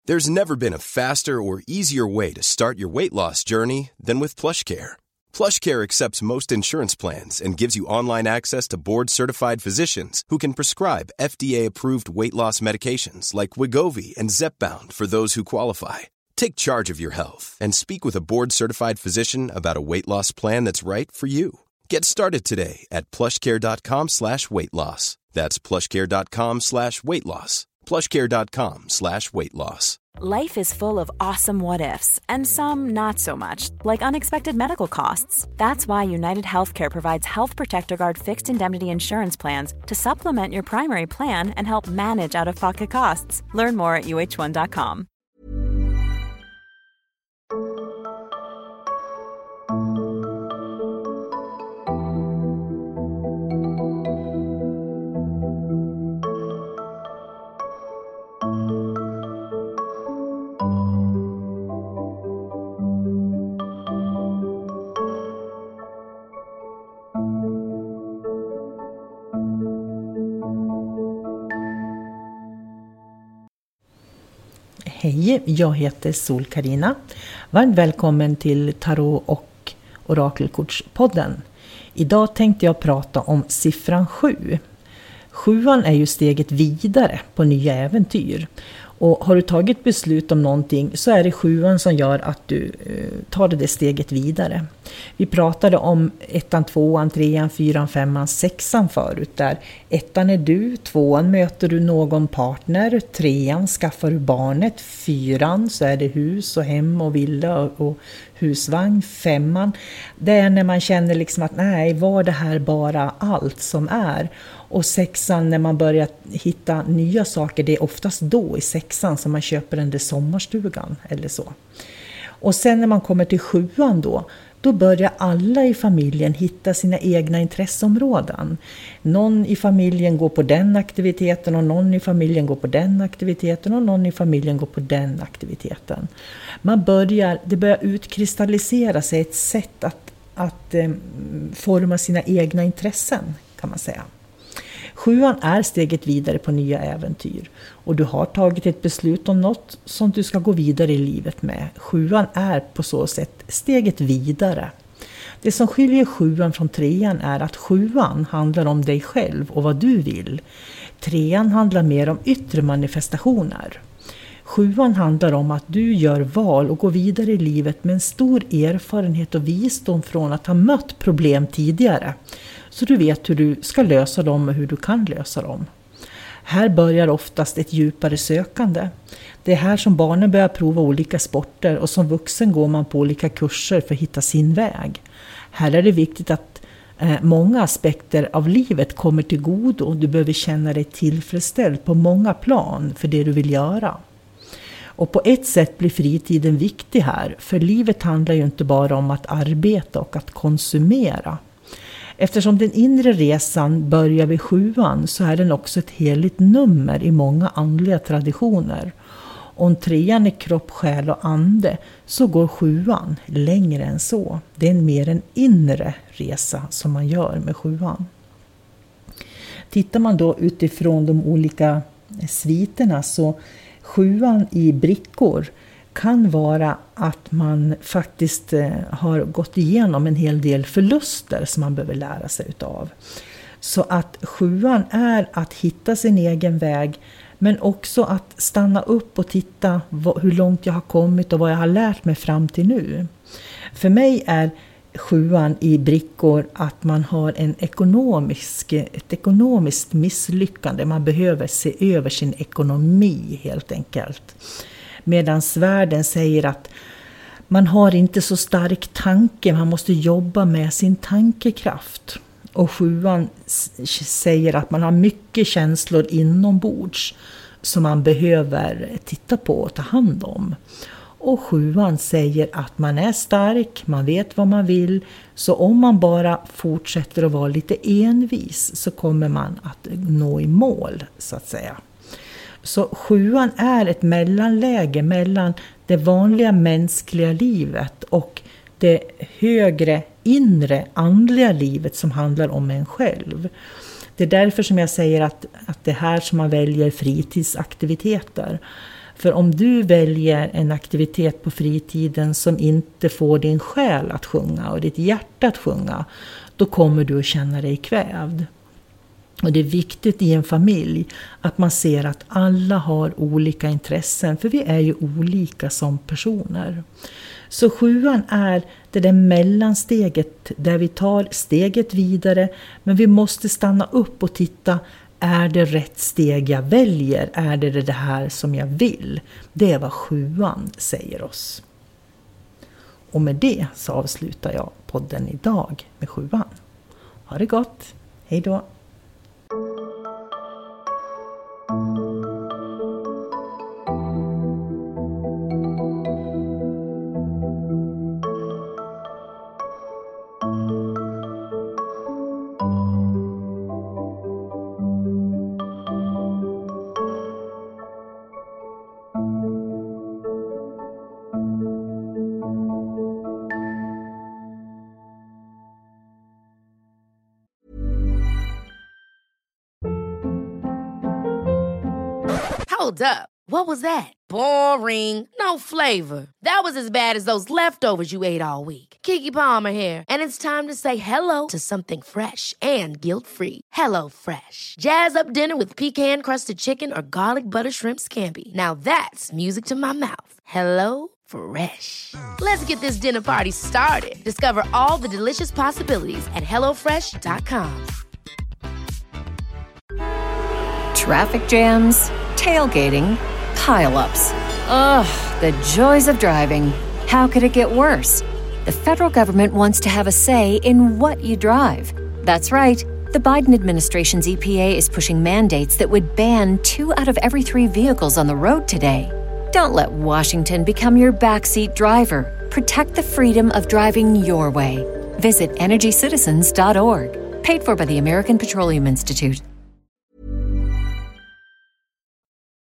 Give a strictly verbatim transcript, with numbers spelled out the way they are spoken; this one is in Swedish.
There's never been a faster or easier way to start your weight loss journey than with PlushCare. PlushCare accepts most insurance plans and gives you online access to board-certified physicians who can prescribe F D A-approved weight loss medications like Wegovy and Zepbound for those who qualify. Take charge of your health and speak with a board-certified physician about a weight loss plan that's right for you. Get started today at plushcare.com slash weight loss. That's plushcare.com slash weight loss. plushcare.com slash weight loss. Life is full of awesome what-ifs, and some not so much, like unexpected medical costs. That's why United Healthcare provides Health Protector Guard fixed indemnity insurance plans to supplement your primary plan and help manage out-of-pocket costs. Learn more at U H one dot com. Hej, jag heter Sol-Carina. Varmt välkommen till Tarot- och Orakelkortspodden. Idag tänkte jag prata om siffran sju. Sjuan är ju steget vidare på nya äventyr. Och har du tagit beslut om någonting så är det sjuan som gör att du eh, tar det steget vidare. Vi pratade om ettan, tvåan, trean, fyran, femman, sexan förut. Där ettan är du, tvåan möter du någon partner, trean skaffar du barnet, fyran så är det hus och hem och villa och, och husvagn, femman. Det är när man känner liksom att nej, var det här bara allt som är? Och sexan, när man börjar hitta nya saker, det är oftast då i sexan som man köper den där sommarstugan eller så. Och sen när man kommer till sjuan då, då börjar alla i familjen hitta sina egna intresseområden. Någon i familjen går på den aktiviteten och någon i familjen går på den aktiviteten och någon i familjen går på den aktiviteten. Man börjar, det börjar utkristallisera sig ett sätt att, att eh, forma sina egna intressen, kan man säga. Sjuan är steget vidare på nya äventyr och du har tagit ett beslut om något som du ska gå vidare i livet med. Sjuan är på så sätt steget vidare. Det som skiljer sjuan från trean är att sjuan handlar om dig själv och vad du vill. Trean handlar mer om yttre manifestationer. Sjuan handlar om att du gör val och går vidare i livet med en stor erfarenhet och visdom från att ha mött problem tidigare. Så du vet hur du ska lösa dem och hur du kan lösa dem. Här börjar oftast ett djupare sökande. Det är här som barnen börjar prova olika sporter och som vuxen går man på olika kurser för att hitta sin väg. Här är det viktigt att eh, många aspekter av livet kommer till godo och du behöver känna dig tillfredsställd på många plan för det du vill göra. Och på ett sätt blir fritiden viktig här, för livet handlar ju inte bara om att arbeta och att konsumera. Eftersom den inre resan börjar vid sjuan så är den också ett heligt nummer i många andliga traditioner. Om trean är kropp, själ och ande så går sjuan längre än så. Det är en mer en inre resa som man gör med sjuan. Tittar man då utifrån de olika sviterna så sjuan i brickor kan vara att man faktiskt har gått igenom en hel del förluster som man behöver lära sig utav. Så att sjuan är att hitta sin egen väg, men också att stanna upp och titta hur långt jag har kommit och vad jag har lärt mig fram till nu. För mig är sjuan i brickor att man har en ekonomisk, ett ekonomiskt misslyckande. Man behöver se över sin ekonomi helt enkelt. Medan världen säger att man har inte så stark tanke, man måste jobba med sin tankekraft. Och sjuan säger att man har mycket känslor inombords som man behöver titta på och ta hand om. Och sjuan säger att man är stark, man vet vad man vill, så om man bara fortsätter att vara lite envis så kommer man att nå i mål, så att säga. Så sjuan är ett mellanläge mellan det vanliga mänskliga livet och det högre inre andliga livet som handlar om en själv. Det är därför som jag säger att, att det är här som man väljer fritidsaktiviteter. För om du väljer en aktivitet på fritiden som inte får din själ att sjunga och ditt hjärta att sjunga, då kommer du att känna dig kvävd. Och det är viktigt i en familj att man ser att alla har olika intressen, för vi är ju olika som personer. Så sjuan är det där mellansteget där vi tar steget vidare, men vi måste stanna upp och titta, är det rätt steg jag väljer? Är det det här som jag vill? Det är vad sjuan säger oss. Och med det så avslutar jag podden idag med sjuan. Ha det gott, hej då! Hold up. What was that? Boring. No flavor. That was as bad as those leftovers you ate all week. Keke Palmer here, and it's time to say hello to something fresh and guilt-free. Hello Fresh. Jazz up dinner with pecan-crusted chicken or garlic butter shrimp scampi. Now that's music to my mouth. Hello Fresh. Let's get this dinner party started. Discover all the delicious possibilities at hello fresh dot com. Traffic jams, tailgating, pile-ups. Ugh, the joys of driving. How could it get worse? The federal government wants to have a say in what you drive. That's right. The Biden administration's E P A is pushing mandates that would ban two out of every three vehicles on the road today. Don't let Washington become your backseat driver. Protect the freedom of driving your way. Visit energy citizens dot org. Paid for by the American Petroleum Institute.